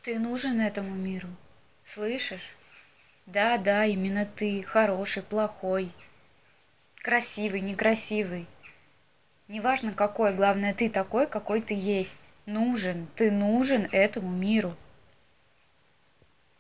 Ты нужен этому миру. Слышишь? Да, да, именно ты. Хороший, плохой. Красивый, некрасивый. Неважно какой, главное ты такой, какой ты есть. Нужен, ты нужен этому миру.